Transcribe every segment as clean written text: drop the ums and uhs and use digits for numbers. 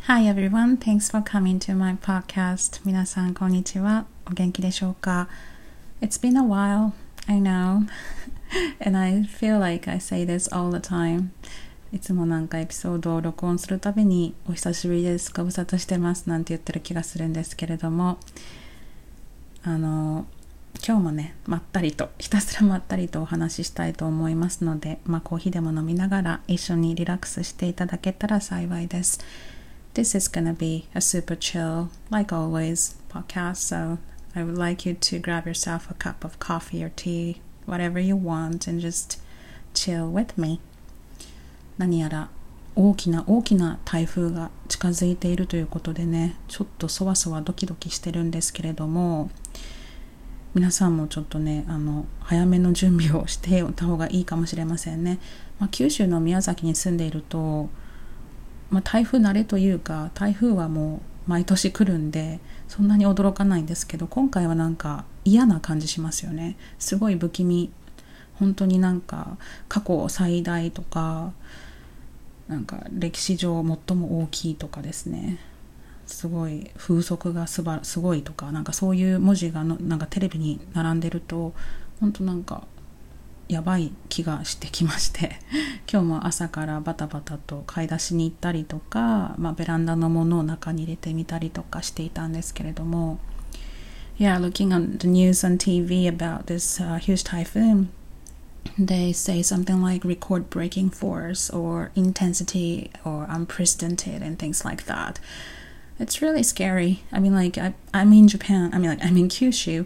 Hi everyone, thanks for coming to my podcast. 皆さんこんにちは。お元気でしょうか？ It's been a while, I know. And I feel like I say this all the time. いつもなんかエピソードを録音するたびにお久しぶりです、ご無沙汰してますなんて言ってる気がするんですけれども、今日もね、ひたすらまったりとお話ししたいと思いますので、コーヒーでも飲みながら一緒にリラックスしていただけたら幸いです。This is gonna be a super chill, like always, podcast, so I would like you to grab yourself a cup of coffee or tea, whatever you want, and just chill with me. 何やら大きな台風が近づいているということでね、ちょっとそわそわドキドキしてるんですけれども、皆さんもちょっとね、早めの準備をしておいた方がいいかもしれませんね。九州の宮崎に住んでいると、台風慣れというか、台風はもう毎年来るんでそんなに驚かないんですけど、今回はなんか嫌な感じしますよね。すごい不気味、本当になんか過去最大とか、なんか歴史上最も大きいとかですね、すごい風速がすごいとか、なんかそういう文字がなんかテレビに並んでると本当なんかやばい気がしてきまして今日も朝からバタバタと買い出しに行ったりとか、ベランダのものを中に入れてみたりとかしていたんですけれども、 Yeah, looking at the news on TV about this huge typhoon, they say something like record breaking force or intensity or unprecedented and things like that. It's really scary. I mean, like, I'm in Japan. I'm in Kyushu.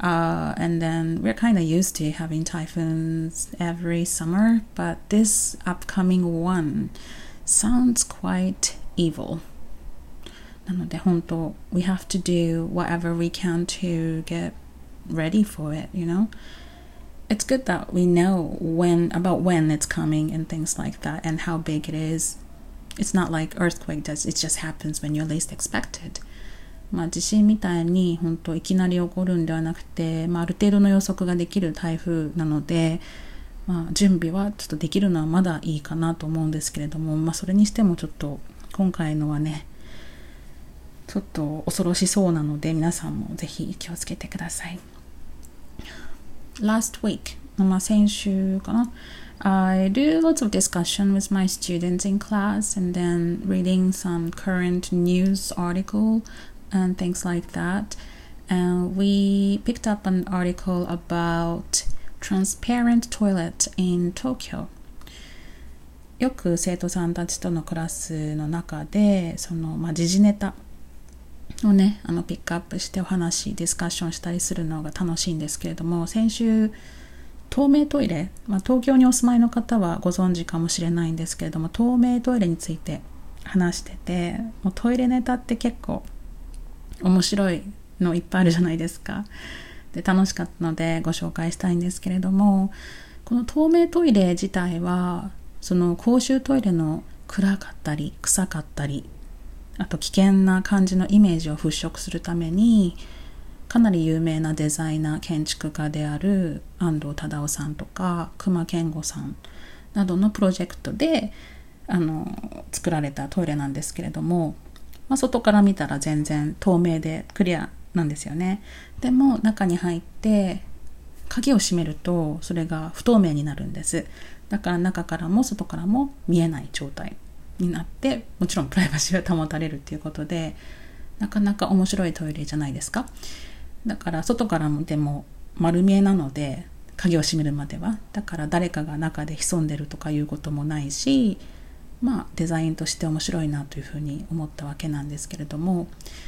And then we're kind of used to having typhoons every summer. But this upcoming one sounds quite evil. なので本当、we have to do whatever we can to get ready for it, you know? It's good that we know about when it's coming and things like that and how big it is.It's not like earthquake does. It just happens when you're least expected. 地震みたいに本当いきなり起こるんではなくて、ある程度の予測ができる台風なので、準備はちょっとできるのはまだいいかなと思うんですけれども、それにしてもちょっと今回のはね、ちょっと恐ろしそうなので、皆さんもぜひ気をつけてください。Last week、先週かな。I do lots of discussion with my students in class and then reading some current news article and things like that. And we picked up an article about transparent toilet in Tokyo. よく生徒さんたちとのクラスの中で、時事ネタをね、ピックアップしてディスカッションしたりするのが楽しいんですけれども、先週透明トイレ、東京にお住まいの方はご存知かもしれないんですけれども、透明トイレについて話してて、もうトイレネタって結構面白いのいっぱいあるじゃないですか。で、楽しかったのでご紹介したいんですけれども、この透明トイレ自体はその公衆トイレの暗かったり臭かったり、あと危険な感じのイメージを払拭するために、かなり有名なデザイナー建築家である安藤忠雄さんとか隈研吾さんなどのプロジェクトで作られたトイレなんですけれども、外から見たら全然透明でクリアなんですよね。でも中に入って鍵を閉めるとそれが不透明になるんです。だから中からも外からも見えない状態になって、もちろんプライバシーが保たれるっていうことで、なかなか面白いトイレじゃないですか。だから外からもでも丸見えなので、鍵を閉めるまでは、だから誰かが中で潜んでるとかいうこともないし、デザインとして面白いなというふうに思ったわけなんですけれども、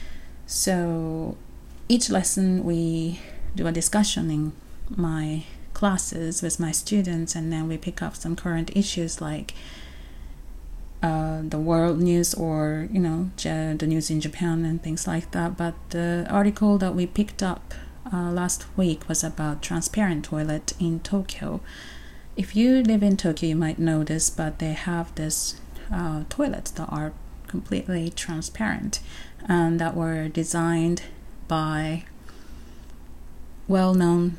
So each lesson we do a discussion in my classes with my students, and then we pick up some current issues like the world news or the news in Japan and things like that. But the article that we picked up last week was about transparent toilet in Tokyo. If you live in Tokyo, you might know this, but they have this toilets that are completely transparent and that were designed by well-known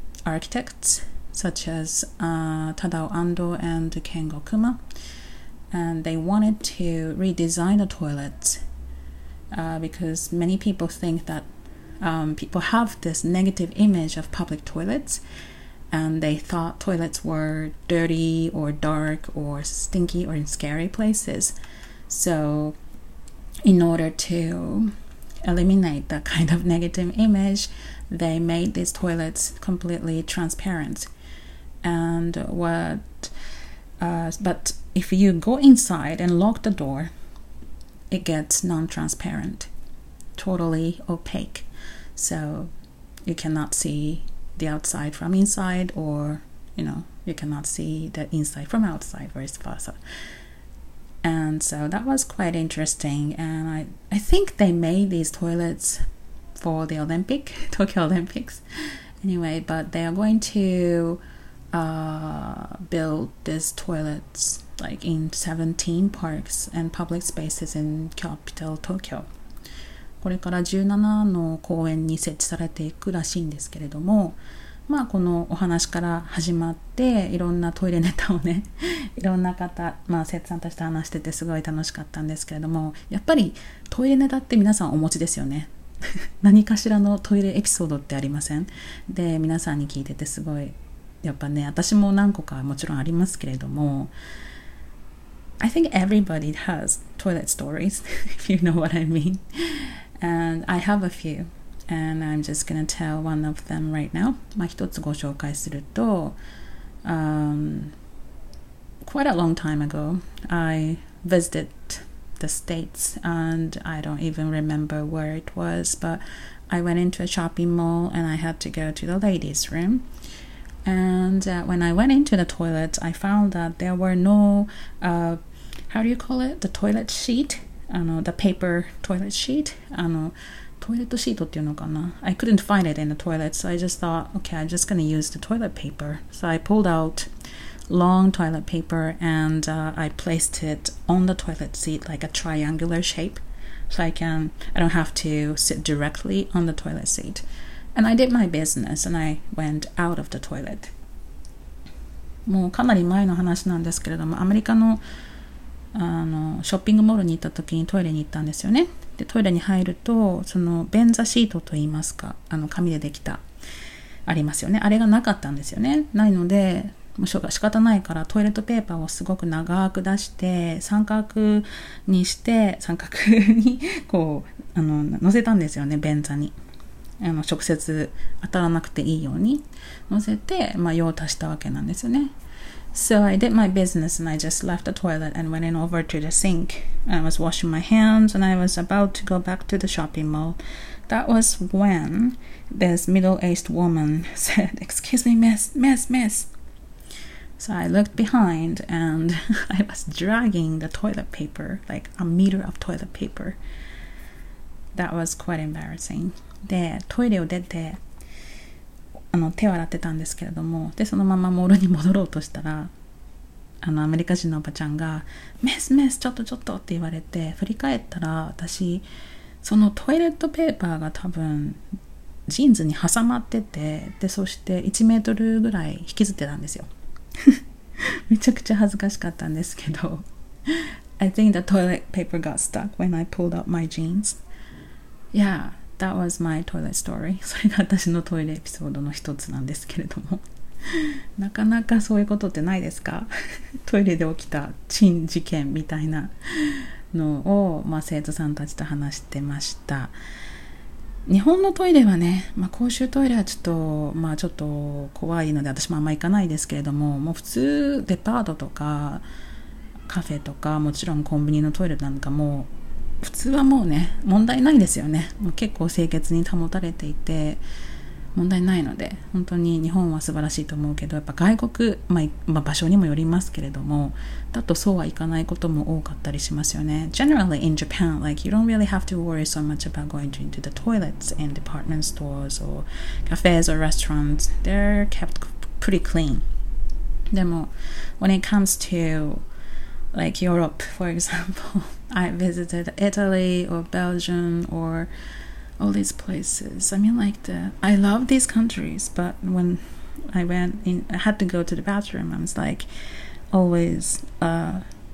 architects such as Tadao Ando and Kengo Kuma. and they wanted to redesign the toilets because many people think that people have this negative image of public toilets, and they thought toilets were dirty or dark or stinky or in scary places. So in order to eliminate that kind of negative image, they made these toilets completely transparent. And but if you go inside and lock the door, it gets non-transparent, totally opaque. So you cannot see the outside from inside, or you cannot see the inside from outside, vice versa. And so that was quite interesting. And I think they made these toilets for the Tokyo Olympics anyway, but they are going to build these toilets like in 17 parks and public spaces in capital Tokyo. これから17の公園に設置されていくらしいんですけれども、このお話から始まっていろんなトイレネタをねいろんな方、生徒さんたちと話しててすごい楽しかったんですけれども、やっぱりトイレネタって皆さんお持ちですよね何かしらのトイレエピソードってありません？で、皆さんに聞いててすごいやっぱね、私も何個かもちろんありますけれども、I think everybody has toilet stories if you know what I mean. And I have a few, and I'm just gonna tell one of them right now. 一つご紹介すると、quite a long time ago, I visited the States, and I don't even remember where it was, but I went into a shopping mall and I had to go to the ladies' room. And when I went into the toilet, I found that there were no, how do you call it? The toilet sheet? The paper toilet sheet? トイレットシートっていうのかな? I couldn't find it in the toilet, so I just thought, okay, I'm just going to use the toilet paper. So I pulled out long toilet paper and I placed it on the toilet seat like a triangular shape, so I don't have to sit directly on the toilet seat. And I did my business and I went out of the toilet. もうかなり前の話なんですけれども、アメリカのショッピングモールに行った時にトイレに行ったんですよね。で、トイレに入ると、その便座シートといいますか、紙でできたありますよね。あれがなかったんですよね。ないので、もう仕方ないからトイレットペーパーをすごく長く出して三角にこう乗せたんですよね、便座に。直接当たらなくていいように乗せて、用を足したわけなんですよね。So I did my business and I just left the toilet and went in over to the sink. I was washing my hands and I was about to go back to the shopping mall. That was when this middle-aged woman said, "Excuse me, miss." So I looked behind and I was dragging the toilet paper, like a meter of toilet paper. That was quite embarrassing. で、トイレを出て手を洗ってたんですけれども、でそのままモールに戻ろうとしたら、アメリカ人のおばちゃんがメスちょっとって言われて、振り返ったら私そのトイレットペーパーが多分ジーンズに挟まってて、でそして1メートルぐらい引きずってたんですよめちゃくちゃ恥ずかしかったんですけどI think the toilet paper got stuck when I pulled out my jeans. Yeah.That was my toilet story. それが私のトイレエピソードの一つなんですけれどもなかなかそういうことってないですかトイレで起きた珍事件みたいなのを、生徒さんたちと話してました。日本のトイレはね、公衆トイレはちょっと怖いので私もあんま行かないですけれども、もう普通デパートとかカフェとかもちろんコンビニのトイレなんかも普通はもうね問題ないですよね。もう結構清潔に保たれていて問題ないので、本当に日本は素晴らしいと思うけど、やっぱ外国、場所にもよりますけれども、だとそうはいかないことも多かったりしますよね。Generally in Japan, like you don't really have to worry so much about going into the toilets in department stores or cafes or restaurants. They're kept pretty clean. でも when it comes to like Europe, for example, I visited Italy or Belgium or all these places. I mean, I love these countries, but when I went in, I had to go to the bathroom. I was like always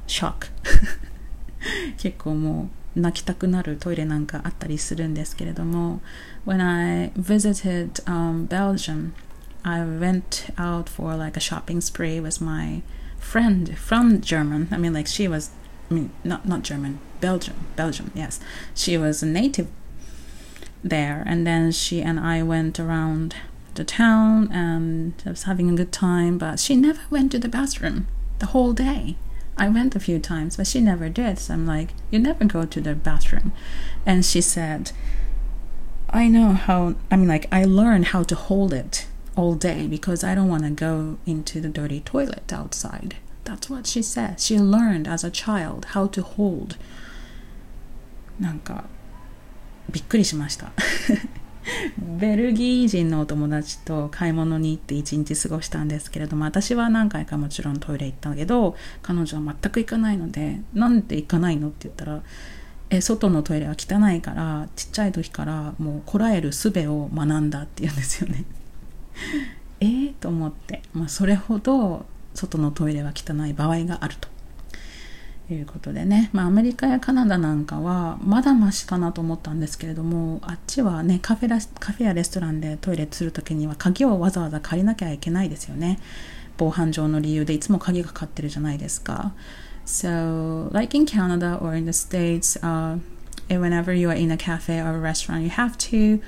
shock 結構もう泣きたくなるトイレなんかあったりするんですけれども When I visited Belgium I went out for like a shopping spree with my friend from German I mean like she was not German Belgium yes she was a native there and then she and I went around the town and I was having a good time but she never went to the bathroom the whole day I went a few times but she never did so I'm like you never go to the bathroom and she said I know how I mean like I learned how to hold it all day because I don't want to go into the dirty toilet outside that's what she said she learned as a child how to hold なんかびっくりしましたベルギー人のお友達と買い物に行って一日過ごしたんですけれども私は何回かもちろんトイレ行ったけど彼女は全く行かないのでなんで行かないのって言ったら外のトイレは汚いからちっちゃい時からもうこらえる術を学んだって言うんですよねと思って、それほど外のトイレは汚い場合があるということでね、アメリカやカナダなんかはまだマシかなと思ったんですけれどもあっちはねカフェやレストランでトイレするときには鍵をわざわざ借りなきゃいけないですよね防犯上の理由でいつも鍵がかかってるじゃないですか So like in Canada or in the States whenever you are in a cafe or a restaurant you have to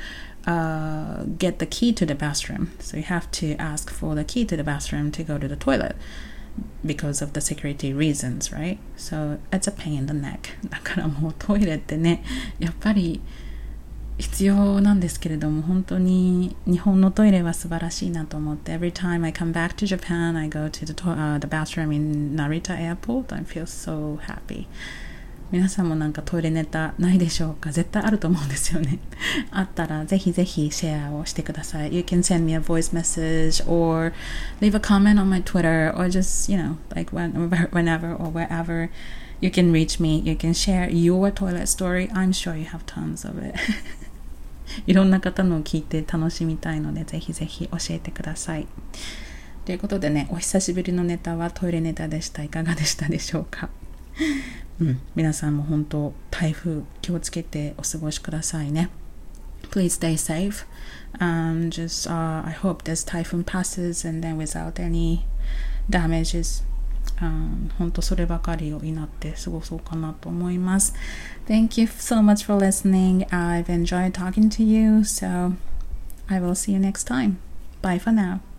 get the key to the bathroom so you have to ask for the key to the bathroom to go to the toilet because of the security reasons, right? So it's a pain in the neck だからもうトイレってねやっぱり必要なんですけれども本当に日本のトイレは素晴らしいなと思って Every time I come back to Japan I go to the bathroom in Narita Airport I feel so happy皆さんもなんかトイレネタないでしょうか絶対あると思うんですよねあったらぜひぜひシェアをしてください You can send me a voice message or leave a comment on my Twitter or just like whenever or wherever you can reach me You can share your toilet story I'm sure you have tons of it いろんな方のを聞いて楽しみたいのでぜひぜひ教えてくださいということでねお久しぶりのネタはトイレネタでしたいかがでしたでしょうか皆さんも本当台風気をつけてお過ごしくださいね Please stay safe I hope this typhoon passes and then without any damages 本当そればかりを祈って過ごそうかなと思います Thank you so much for listening I've enjoyed talking to you so I will see you next time Bye for now